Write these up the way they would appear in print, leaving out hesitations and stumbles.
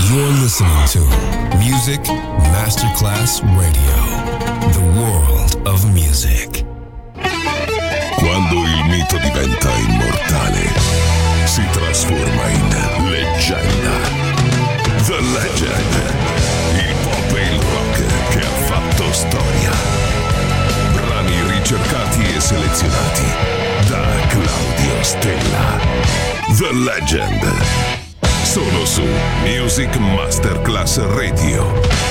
You're listening to Music Masterclass Radio, the world of music. Quando il mito diventa immortale, si trasforma in leggenda. The Legend, il pop e il rock che ha fatto storia. Brani ricercati e selezionati da Claudio Stella. The Legend. Solo su Music Masterclass Radio.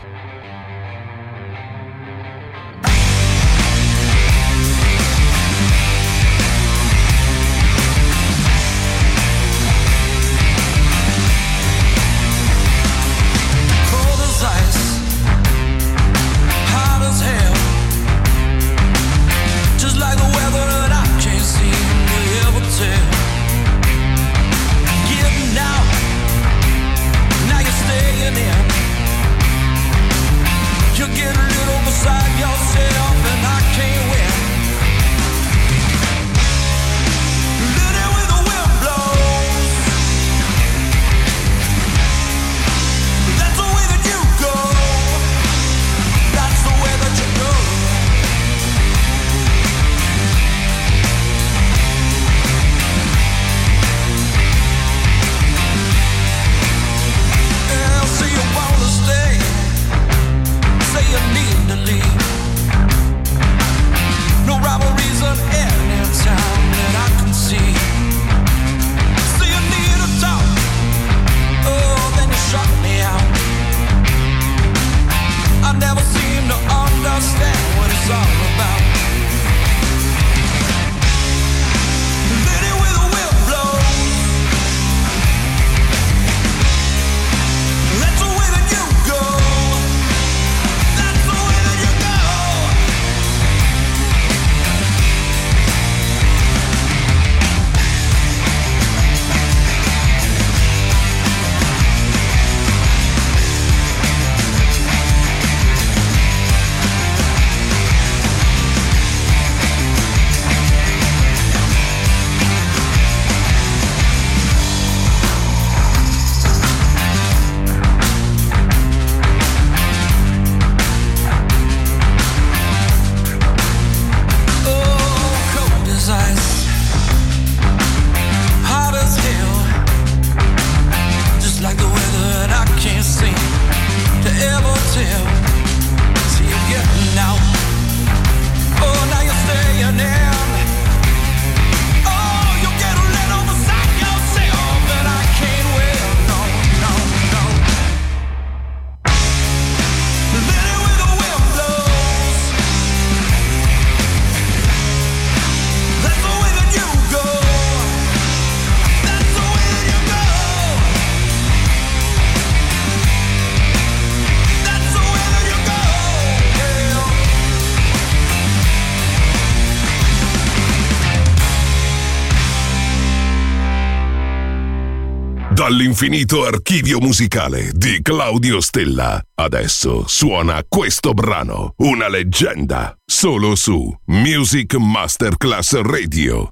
Dall'infinito archivio musicale di Claudio Stella. Adesso suona questo brano, una leggenda, solo su Music Masterclass Radio.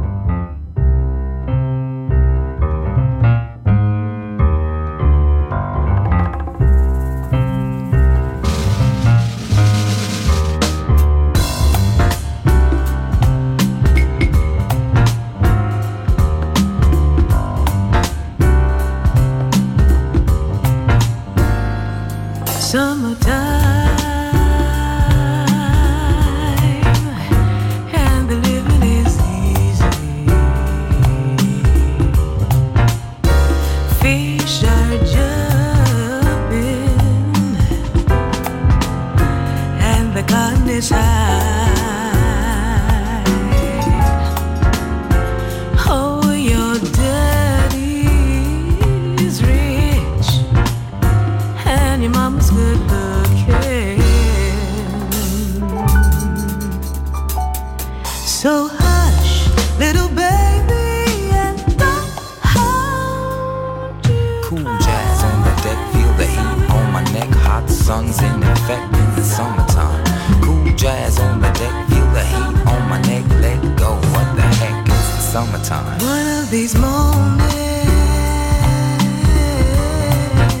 Summertime, and the living is easy. Fish are jumping, and the cotton is high. Oh, your daddy's rich, and your mama's good looking. So hush, little baby, and don't hold you. Cool jazz on the deck, feel the heat on my neck. Hot sun's in effect in the summertime. Cool jazz on the deck, feel the heat on my neck. Let go, what the heck, it's the summertime. One of these mornings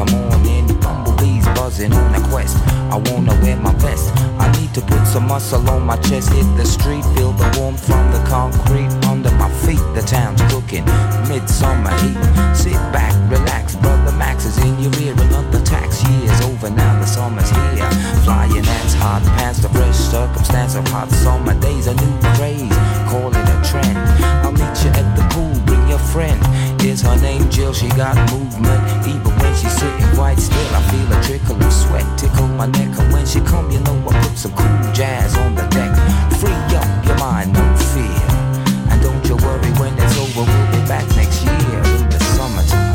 the morning. Bumblebees buzzing on a quest. I wanna wear my vest. I need to put some muscle on my chest. Hit the street, feel the warmth from the concrete under my feet. The town's cooking, midsummer heat. Sit back, relax, brother Max is in your ear. Another tax year's over now, the summer's here. Flying ants, hot pants, the fresh circumstance of hot summer days. A new craze, call it a trend. I'll meet you at the pool, bring your friend. Here's her name Jill, she got movement. Even when she's sitting quite still, I feel a trickle of sweat tickle my neck. And when she come, you know I put some cool jazz on the deck. Free up your mind, no fear. And don't you worry, when it's over, we'll be back next year in the summertime.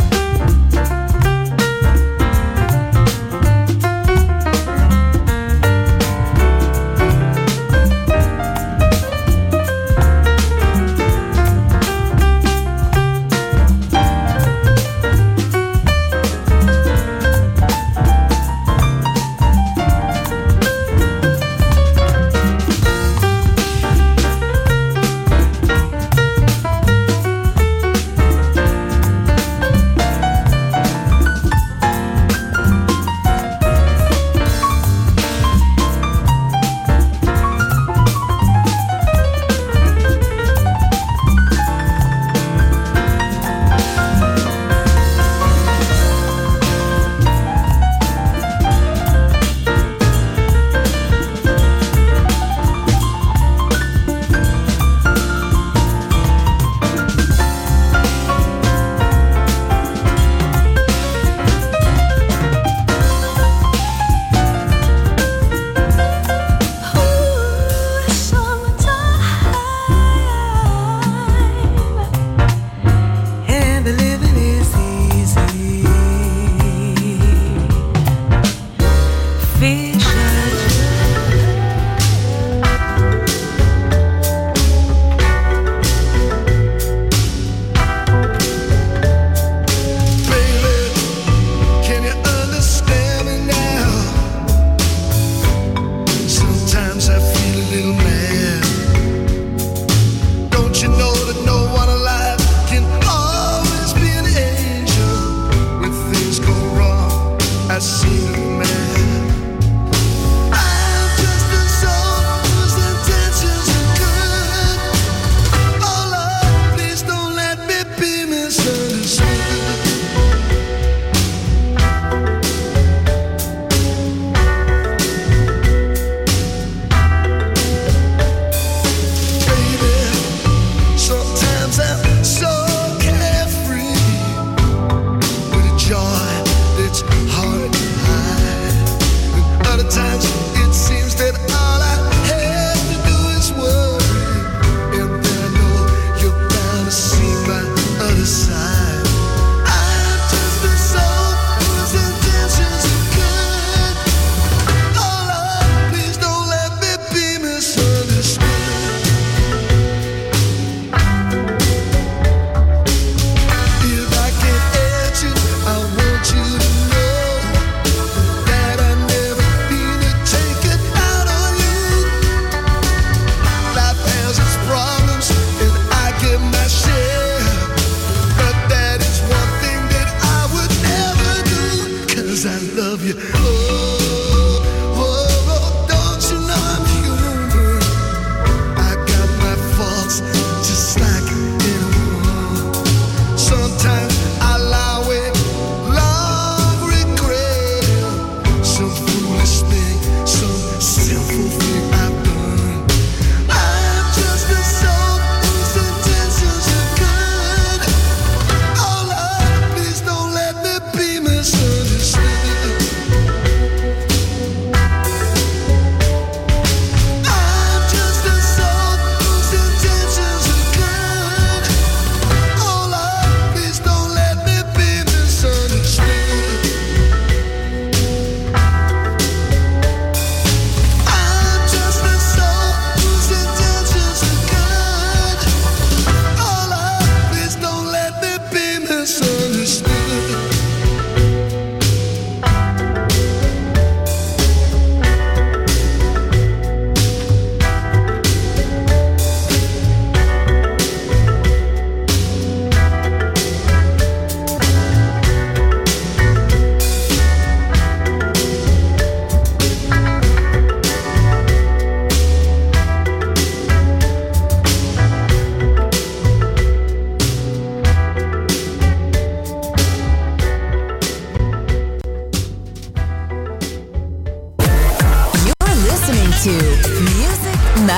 Misunderstood.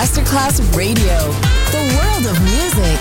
Masterclass Radio, the world of music.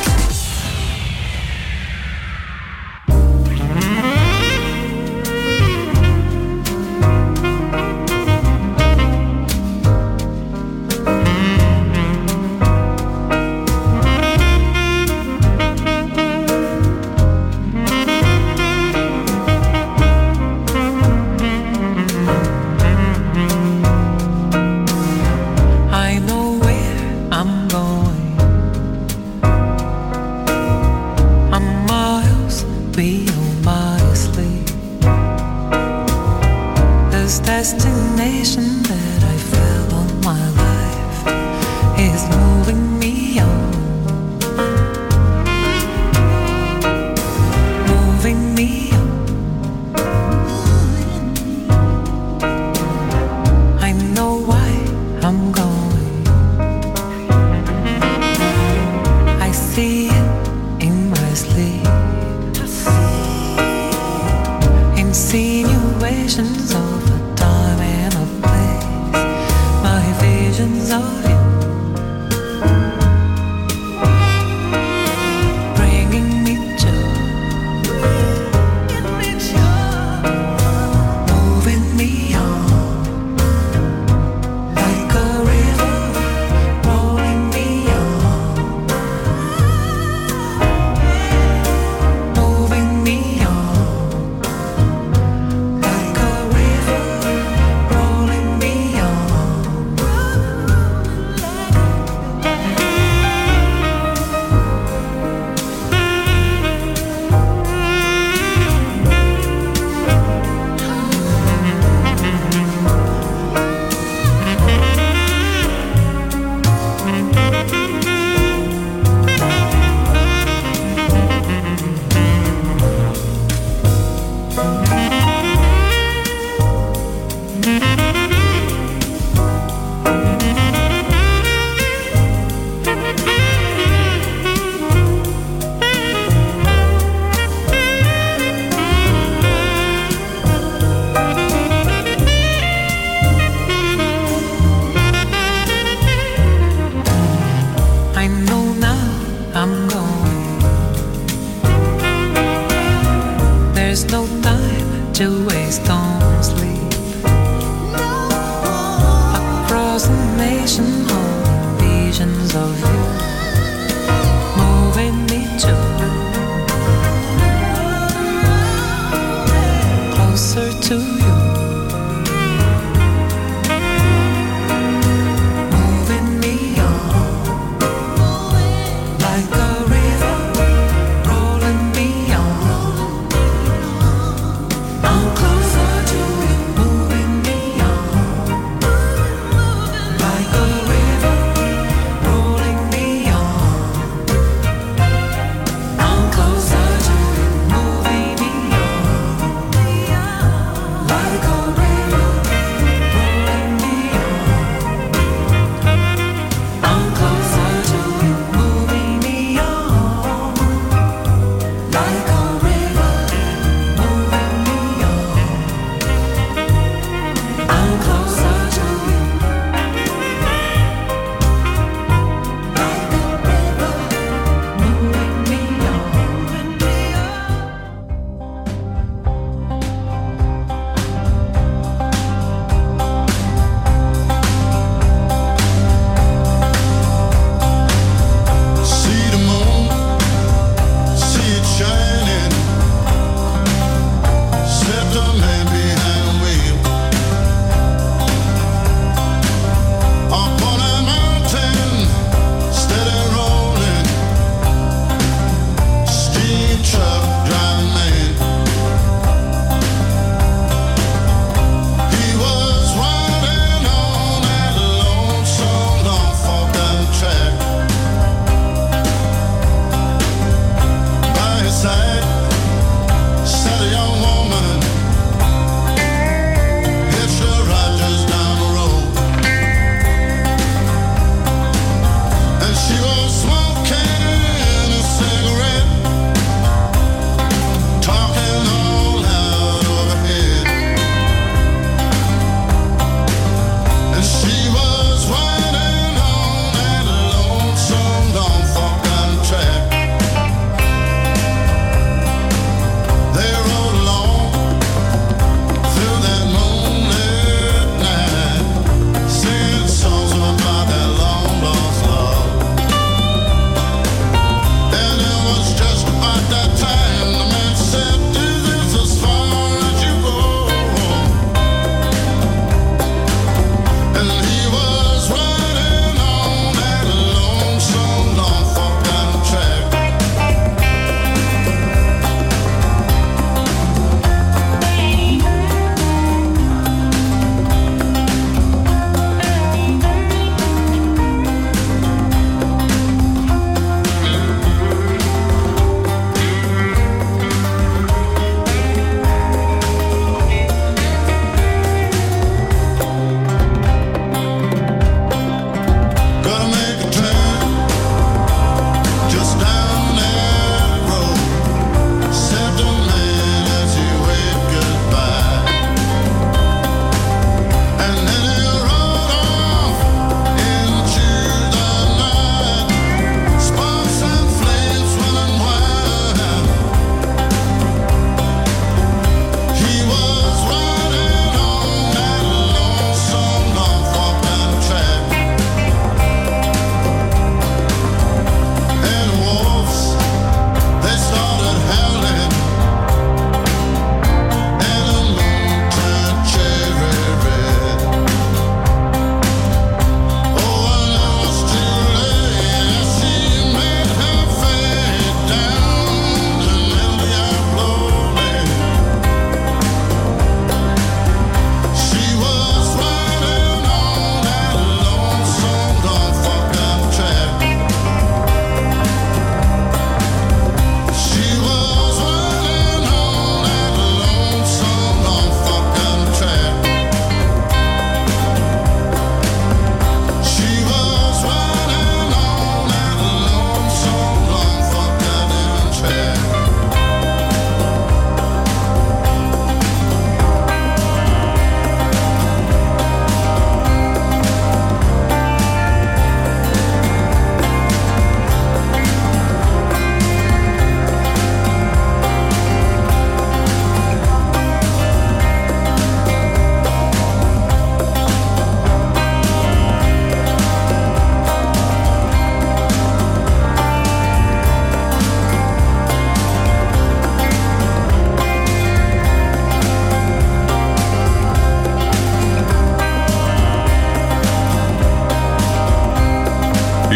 Me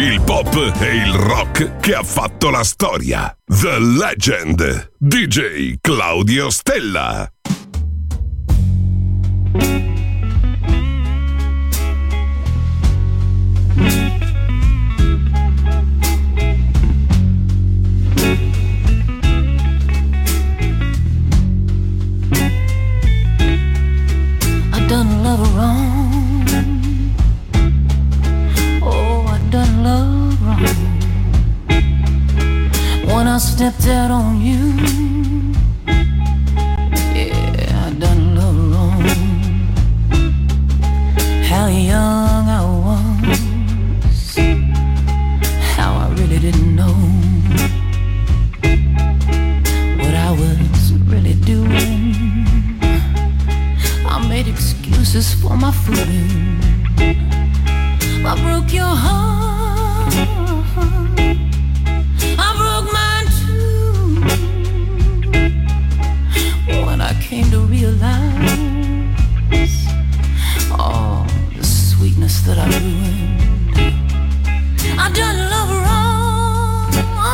il pop e il rock che ha fatto la storia. The Legend, DJ Claudio Stella. I've done a lot of wrong. Oh, I've done a lot of wrong. When I stepped out on you, yeah, I've done a lot of wrong. How young I was, how I really didn't know what I was really doing. I made excuses for my fooling. I broke your heart, I broke mine too. When I came to realize all the sweetness that I ruined, I done love wrong.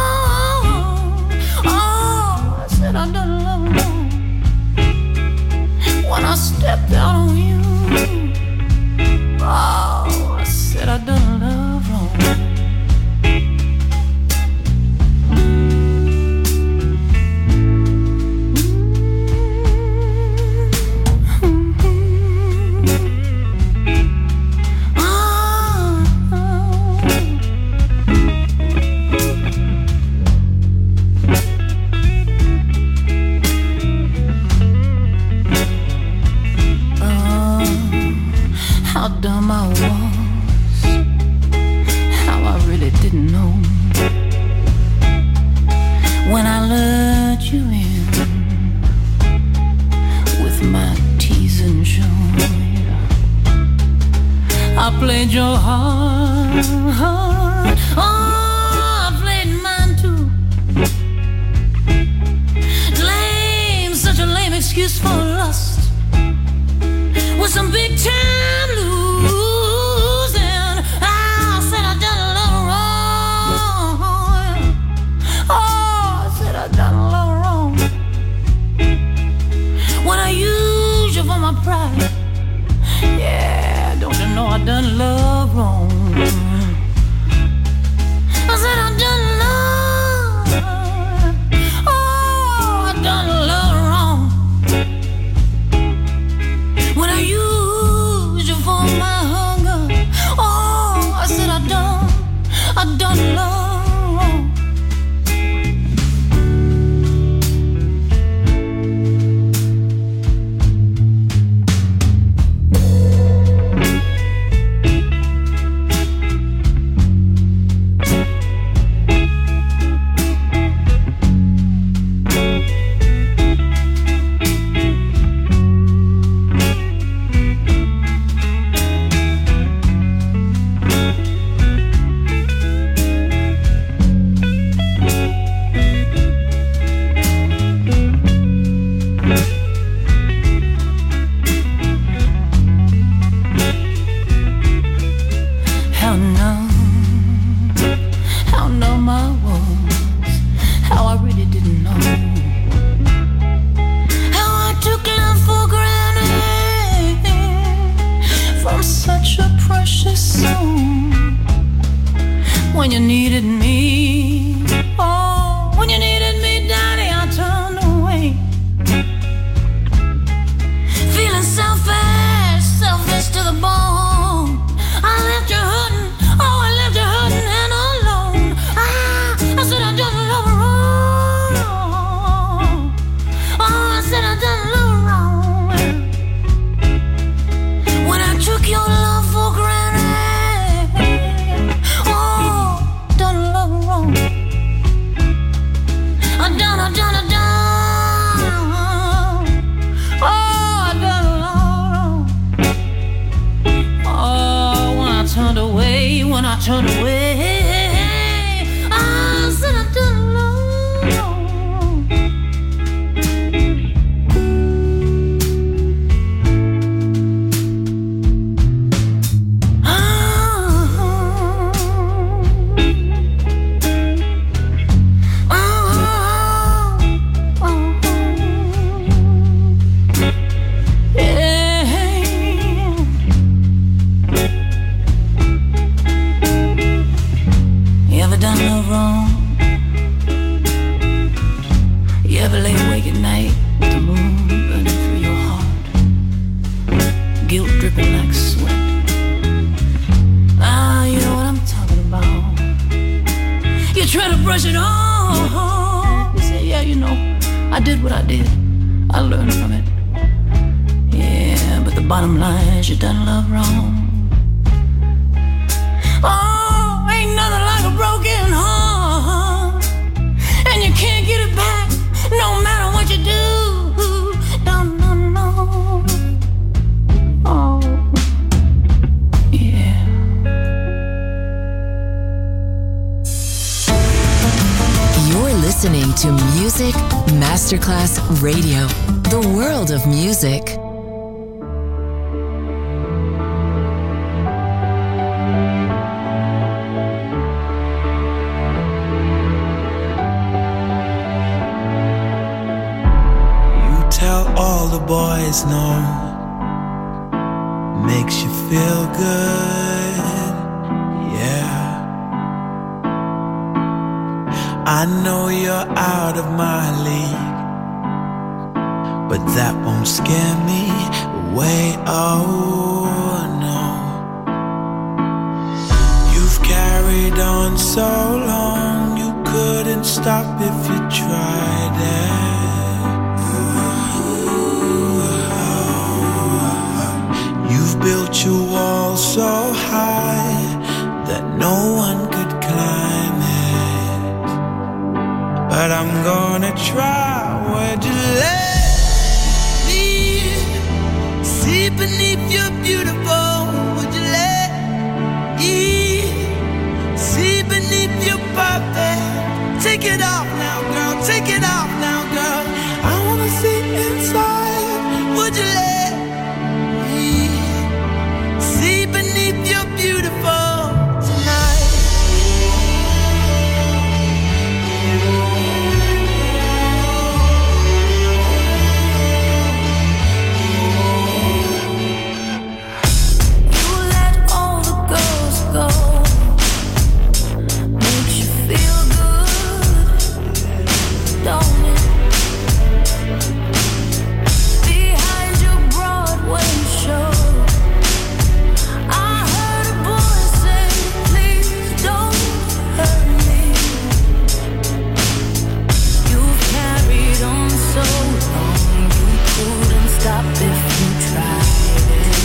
Oh, I said I done love wrong. When I stepped out on you, oh, I said I done love wrong. How dumb I was, how I really didn't know when I let you in with my teasing show. I played your heart, oh, I played mine too. Lame, such a lame excuse for lust, with some big time losing. I said I done a little wrong. Oh, I said I done a little wrong. When I used you for my pride, yeah, don't you know I done love wrong. I said I done love, oh, I done love wrong. When I used you for my hunger, oh, I said I done love wrong. How numb I was, how I really didn't know, how I took love for granted from such a precious soul. When you needed me, oh, when you needed me, Daddy, I turned away, feeling selfish to the bone. I left you hurting, oh, I left you hurting and alone. I said I done love wrong. Oh, I said I done love wrong. When I took your love for granted, oh, done love wrong. I done. Oh, I done love wrong. Oh, when I turned away, I said I done love wrong. brush it off. You say, yeah, you know, I did what I did. I learned from it. Yeah, but the bottom line is you done love wrong. Oh, ain't nothing like a broken heart, and you can't get it back no matter what you do. No, no, no. Oh, yeah. You're listening to Music Masterclass Radio, the world of music. All the boys know, makes you feel good, yeah. I know you're out of my league, but that won't scare me away, oh no. You've carried on so long, you couldn't stop if you tried it. Built your wall so high that no one could climb it. But I'm gonna try. Would you let me see beneath your beautiful? Would you let me see beneath your perfect? Take it off now, girl. Take it off now, girl. I wanna see inside. Would you let beneath your beautiful tonight? You let all the girls go, makes you feel good, don't it? Behind your Broadway show, stop if you tried it.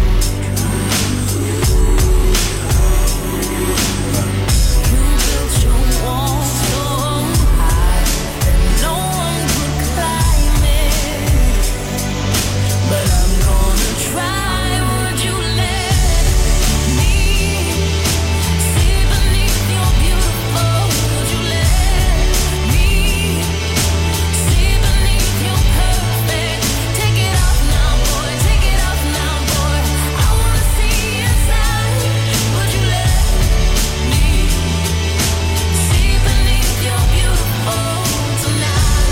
You built your wall so high that no one could climb it. But I'm gonna try. Would you let me see beneath your beautiful? Would you let me see beneath your perfect? Take it off now, boy. Take it off now, boy. I wanna see inside. Would you let me see beneath your beautiful tonight?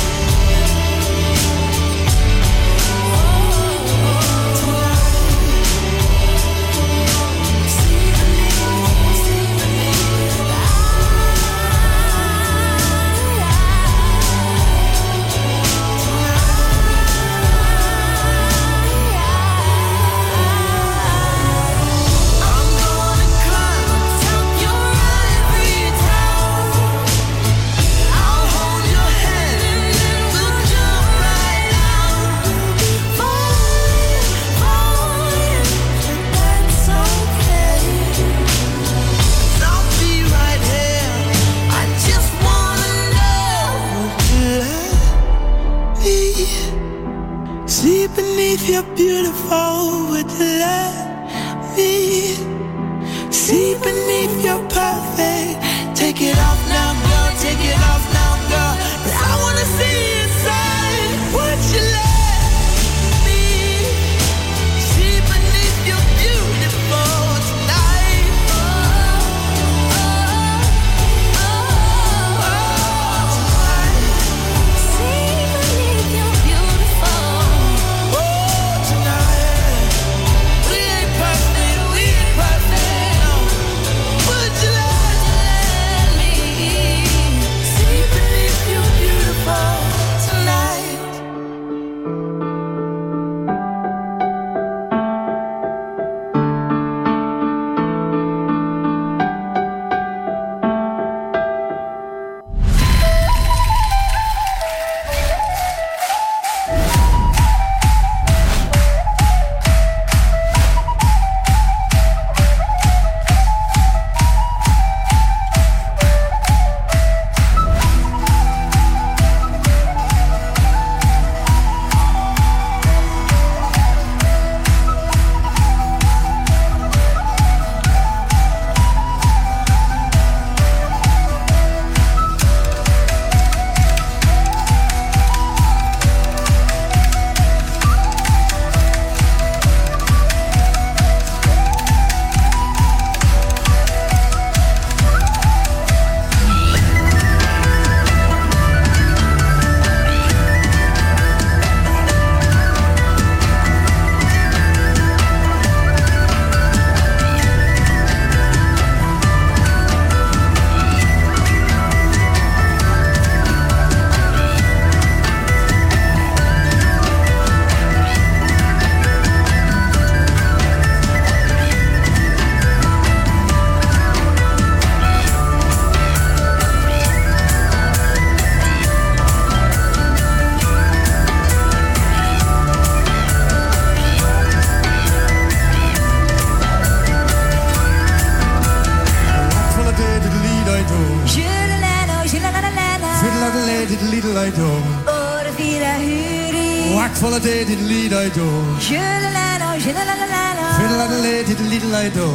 See I'm gonna climb atop your ivory tower. I'll hold your hand and then we'll jump right out. Falling, falling, that's okay. I'll be right here. I just wanna know. Would you let me see beneath your beautiful? Would you let me see beneath your perfect? Take it off now, girl. Take it off now, girl. 'Cause I wanna see inside. Would you let me see beneath your beautiful tonight? See beneath your beautiful. Oh, tonight. We ain't perfect, we ain't perfect. Would you let me full of day diddly di do. Fiddle and a lay diddly di do.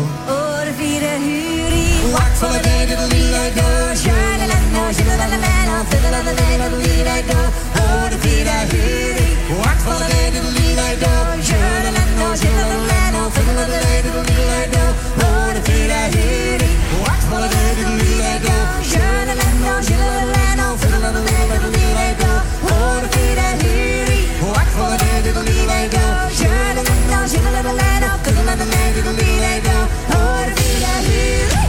Wax full of day diddly di do. Fiddle and a lay diddly di do. Oh, the feet I hear it. Wax full of day diddly di do. Fiddle and a lay diddly di do. Oh, the feet I hear it. Wax full of day diddly di do. Fiddle and a lay diddly di do. Oh, the feet I hear it. Wax full of day diddly di do. Fiddle and a lay diddly di do. Oh, the feet I hear it.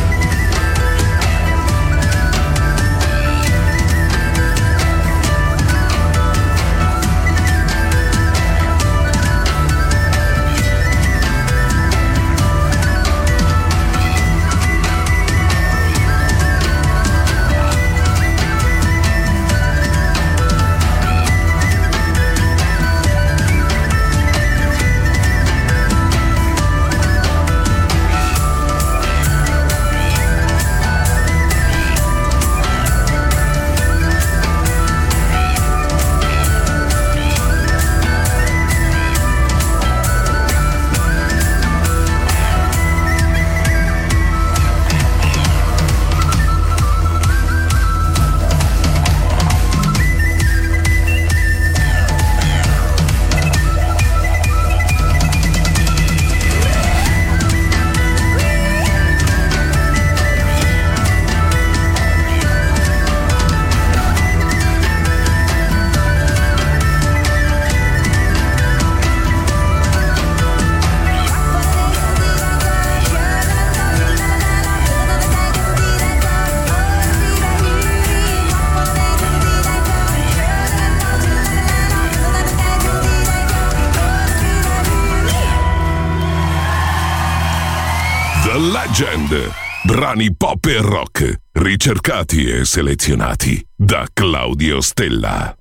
Legend, brani pop e rock, ricercati e selezionati da Claudio Stella.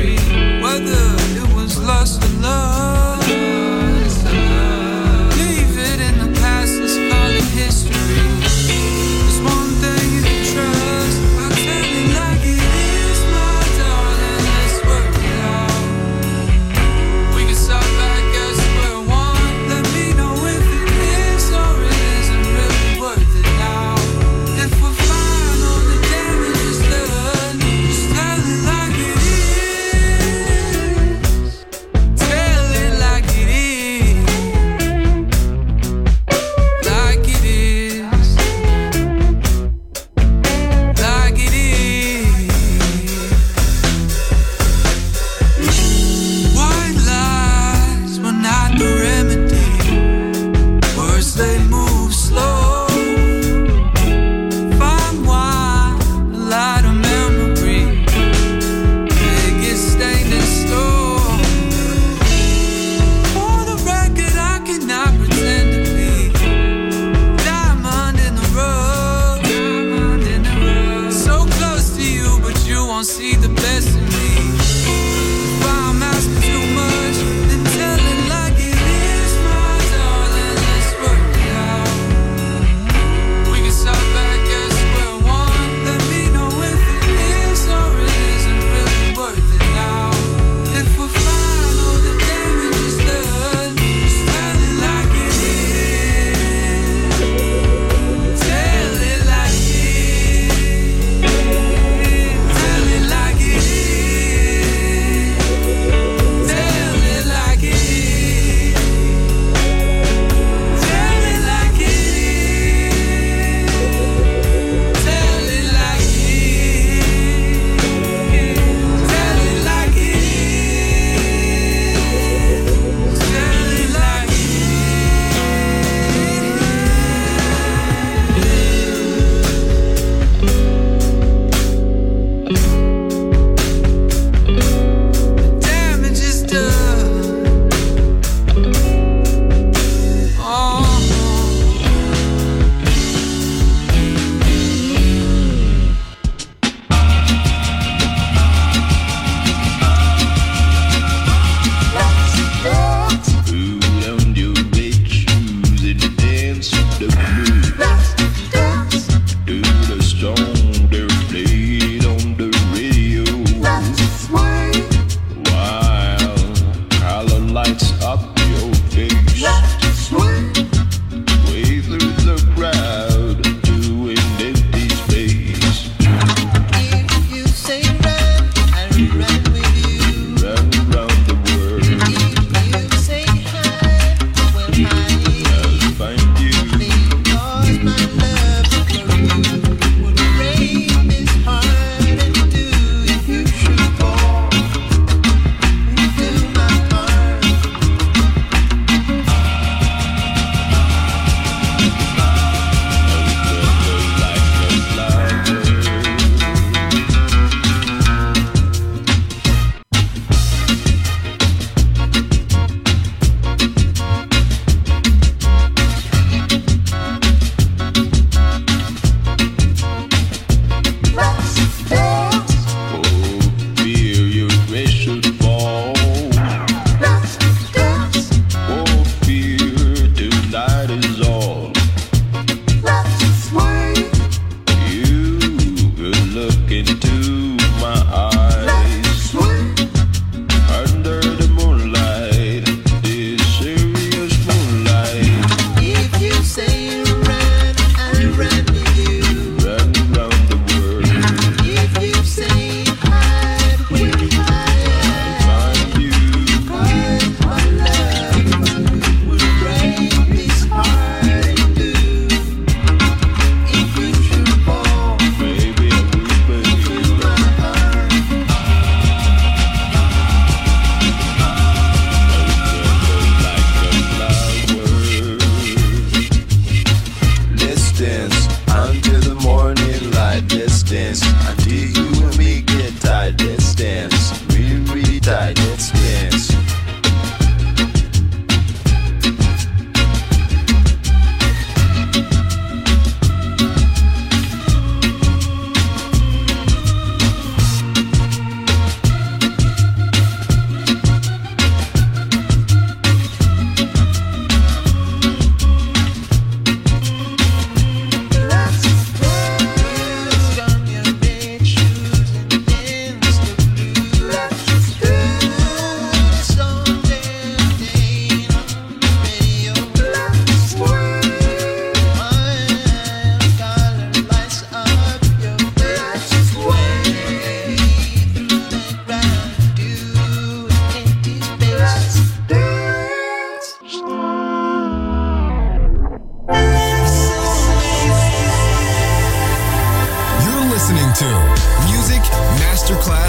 Whether it was lust or love, leave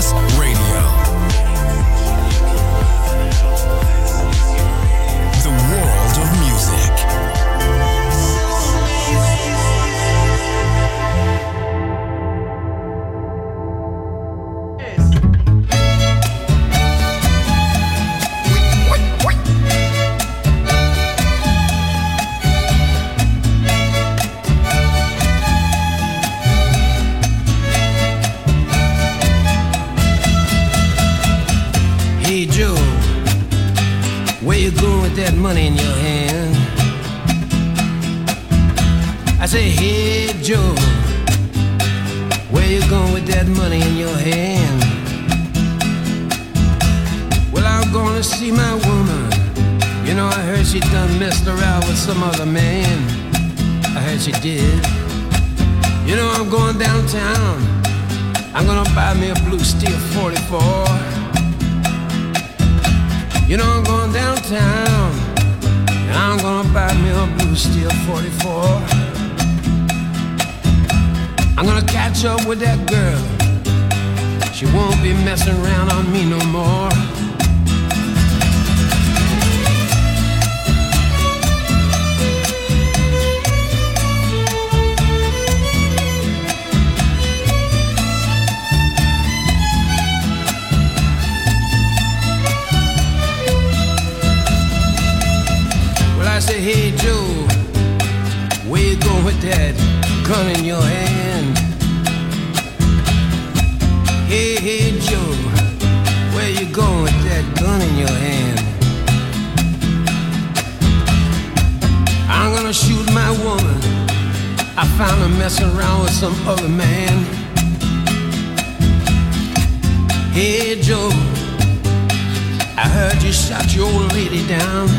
Masterclass Radio. The world of music. That money in your hand. I say, hey Joe, where you going with that money in your hand? Well, I'm gonna see my woman. You know, I heard she done messed around with some other man. I heard she did. You know, I'm going downtown. I'm gonna buy me a blue steel 44. You know, I'm going downtown, and I'm gonna buy me a blue steel 44. I'm gonna catch up with that girl. She won't be messing around on me no more. I say, hey Joe, where you going with that gun in your hand? Hey Joe, where you going with that gun in your hand? I'm gonna shoot my woman. I found her messing around with some other man. Hey Joe, I heard you shot your old lady down.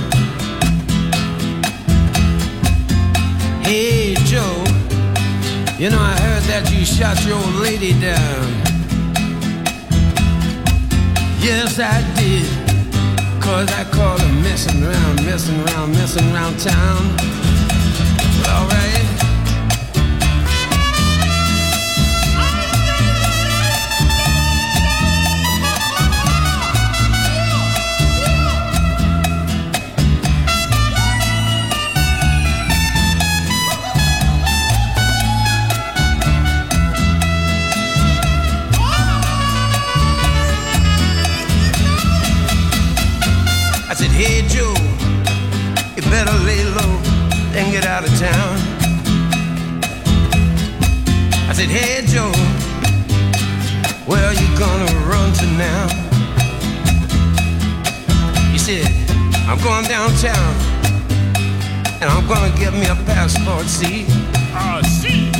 Hey Joe, you know I heard that you shot your old lady down. Yes I did, 'cause I called her messing around town. Well, all right. I said, hey Joe, you better lay low and get out of town. I said, hey Joe, where are you gonna run to now? He said, I'm going downtown and I'm gonna get me a passport, see? See.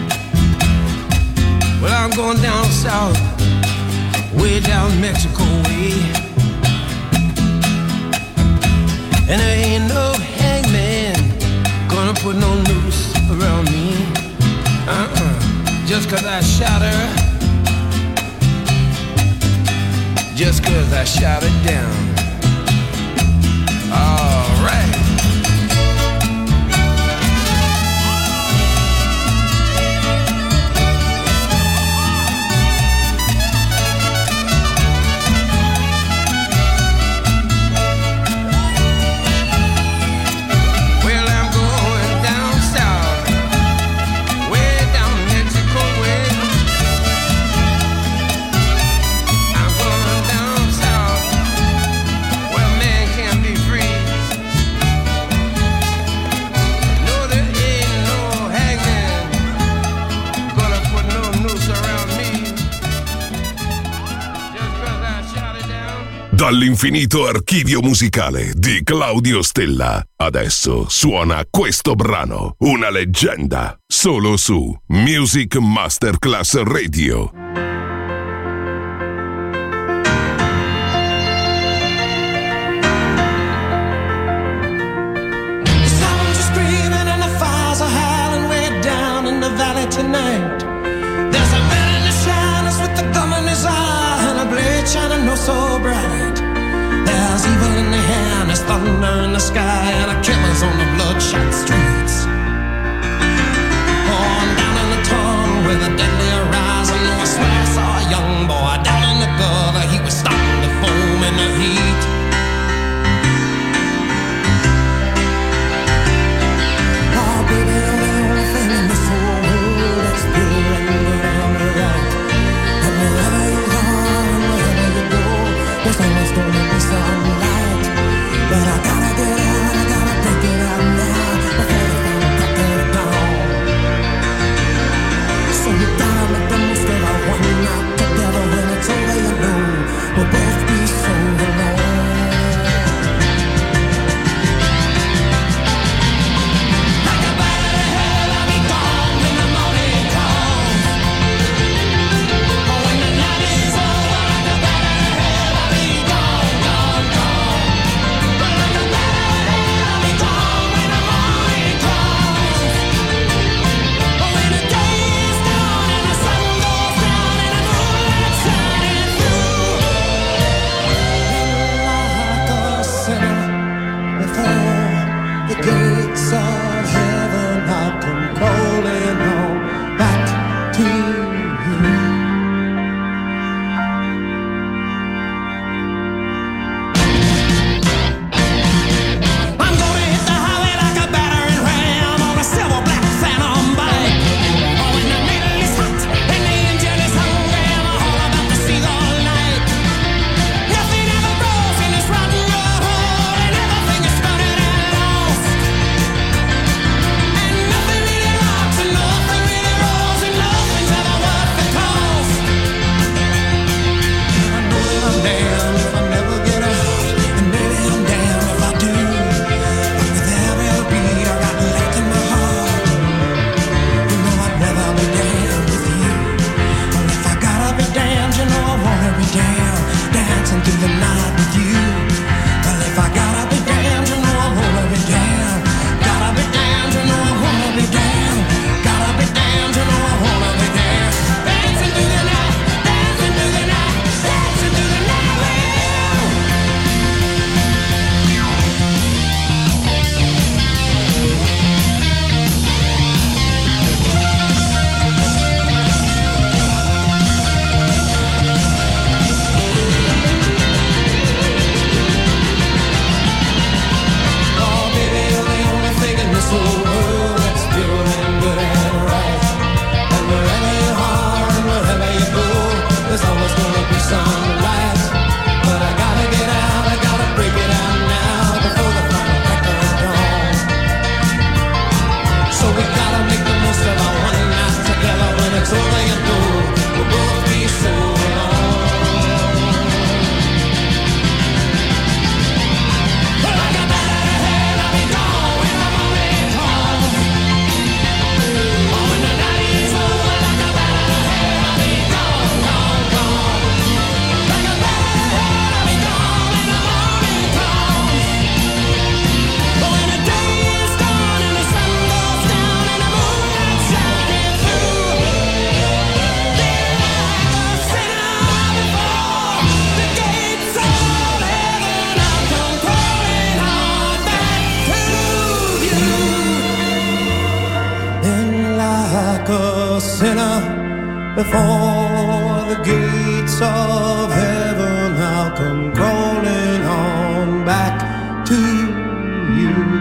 Well, I'm going down south, way down Mexico way. And there ain't no hangman gonna put no noose around me. Just 'cause I shot her. Just 'cause I shot her down. All right. Dall'infinito archivio musicale di Claudio Stella. Adesso suona questo brano, una leggenda, solo su Music Masterclass Radio. Tonight, there's a man in the shadows with the gum in his eye and a blade shining oh so bright. There's evil in the hand, there's thunder in the sky, and a killer's on the bloodshot streets. On down in the tunnel where the deadly horizon, I swear I saw a young boy down in the a sinner before the gates of heaven. I'll come crawling on back to you.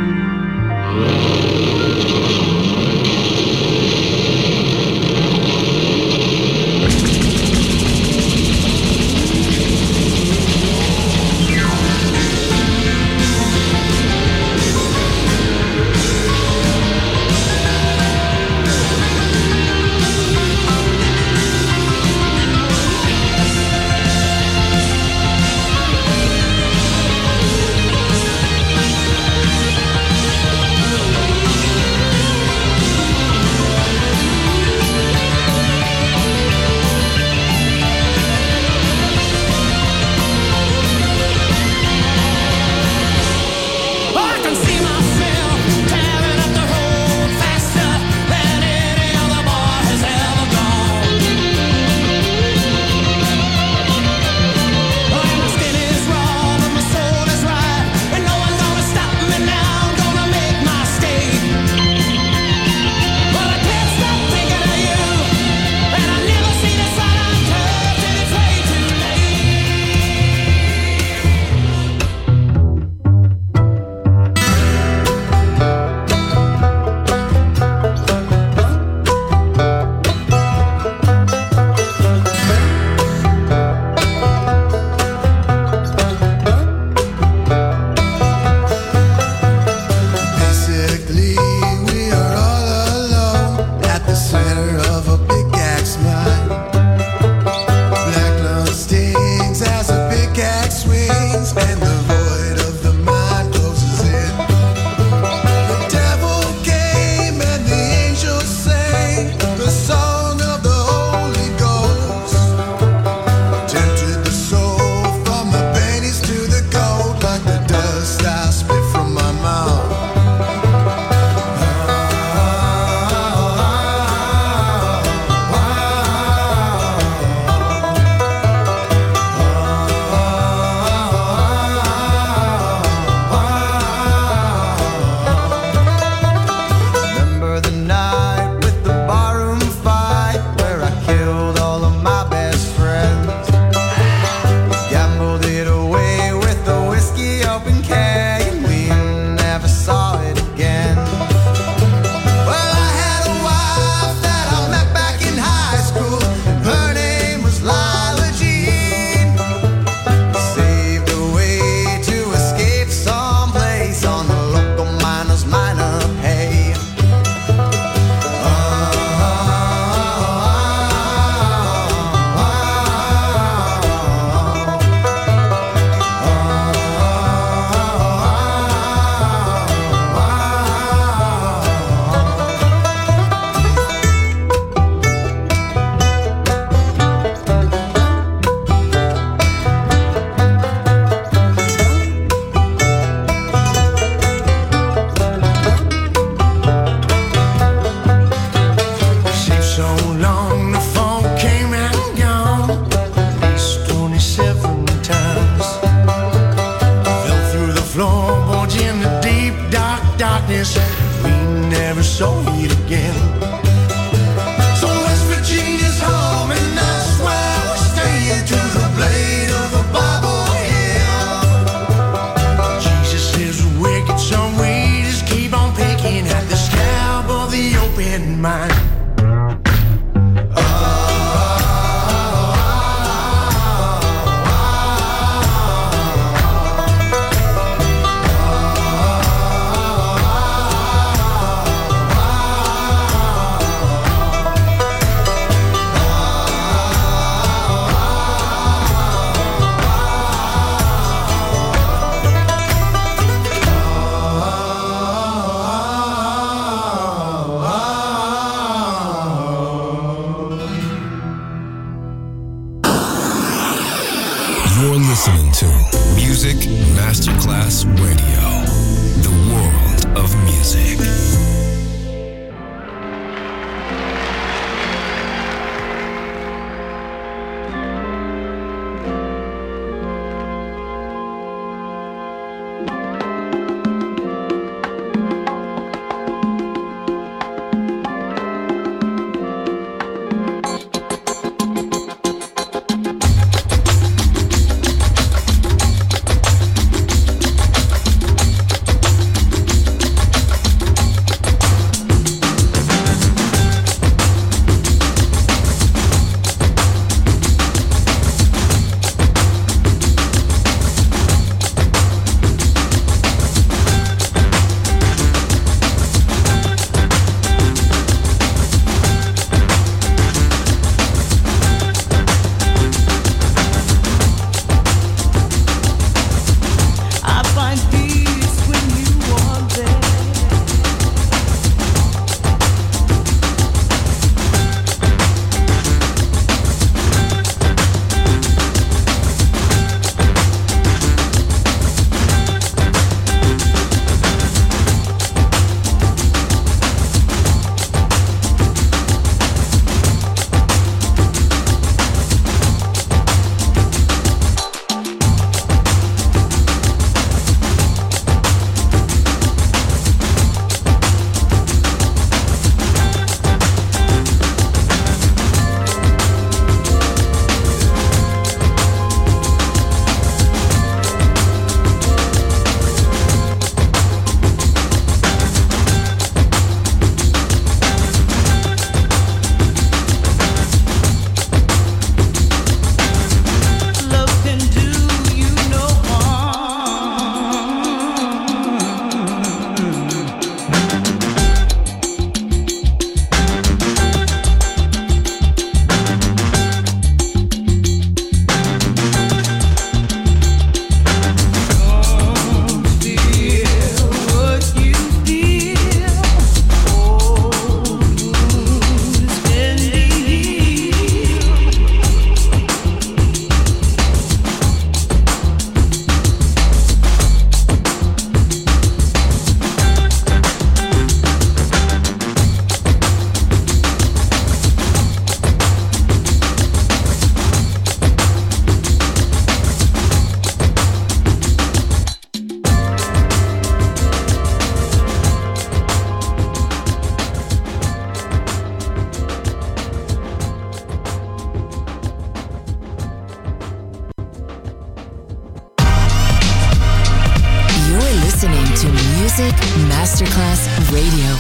Music Masterclass Radio.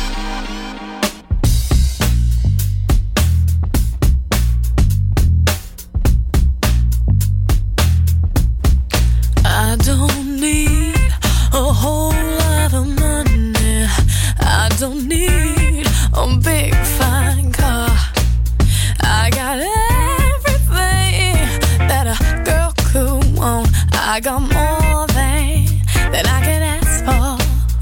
I don't need a whole lot of money. I don't need a big fine car. I got everything that a girl could want. I got more than I can ask for.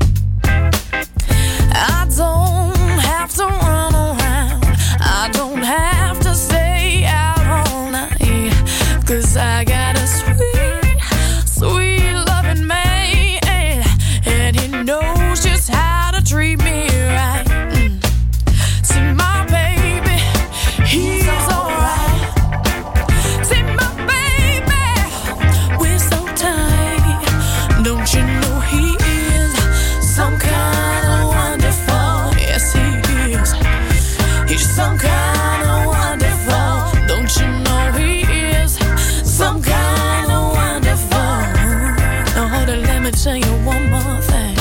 I don't have to run around. I don't have to stay out all night. 'Cause I got a sweet, sweet loving man, and he knows just how to treat me right. See my baby, he's alright. See my baby, we're so tight. Don't you know he is some kind of wonderful? Yes, he is. He's some kind of wonderful. Don't you know he is some kind of wonderful? Now hold it, let me tell you one more thing.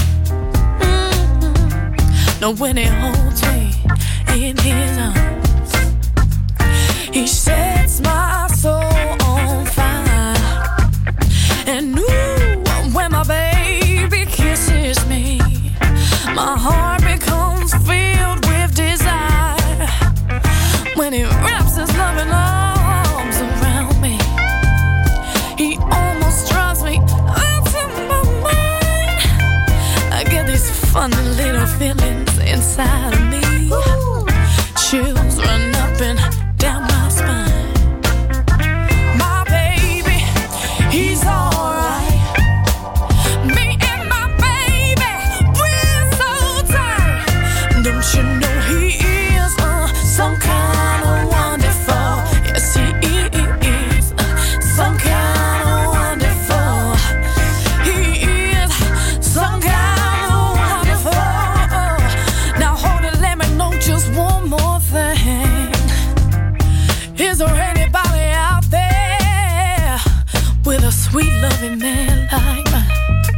Now when he holds me in his arms, he sets my soul on fire. And ooh, when my baby kisses me, my heart becomes filled with desire. When he wraps his loving arms around me, he almost drives me out of my mind. I get these funny little feelings inside of me. Chills run up and down my spine. My baby, he's alright. Me and my baby, we're so tight. Don't you know he is some kind of wonderful? Yes, he is some kind of wonderful. He is some kind of wonderful. Now hold it, let me know just one more thing. Is there anybody out there with a sweet loving man like mine?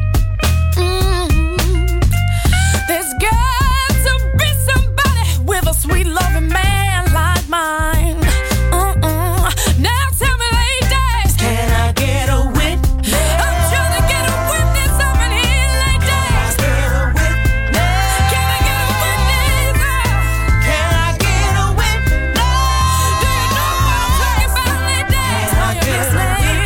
There's got to be somebody with a sweet loving man like mine. Now tell me, ladies, can I get a witness? I'm trying to get a witness up in here, ladies. Can I get a witness? Can I get a witness? Do you know what I'm talking about, ladies? Are you listening?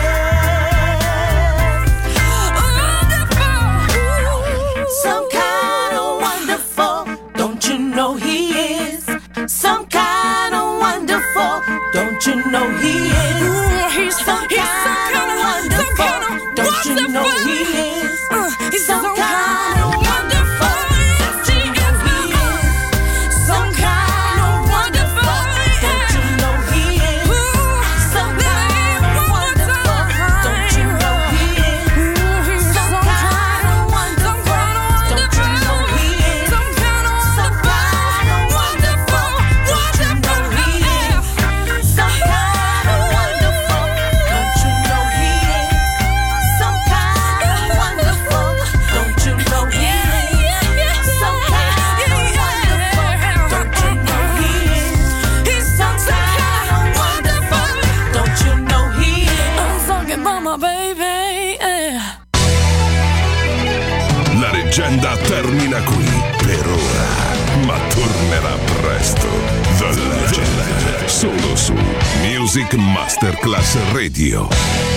Wonderful. Some kind of wonderful. Don't you know he is some kind of wonderful? Don't you know he is some kind of wonderful? Don't you know he is he's some kind of wonderful? Yes, he is some kind of wonderful. Don't you know he is some kind of wonderful? Don't you know he is some kind of wonderful? Don't you know he is some kind of wonderful? Don't you know he is some kind of wonderful? Don't you know he is some kind of wonderful? Don't you know he is some kind of wonderful? Don't you know he is he's some kind of wonderful? Don't you know he is I'm talking about my baby. La leggenda termina qui per ora, ma tornerà presto. The Legend, solo su Music Masterclass Radio.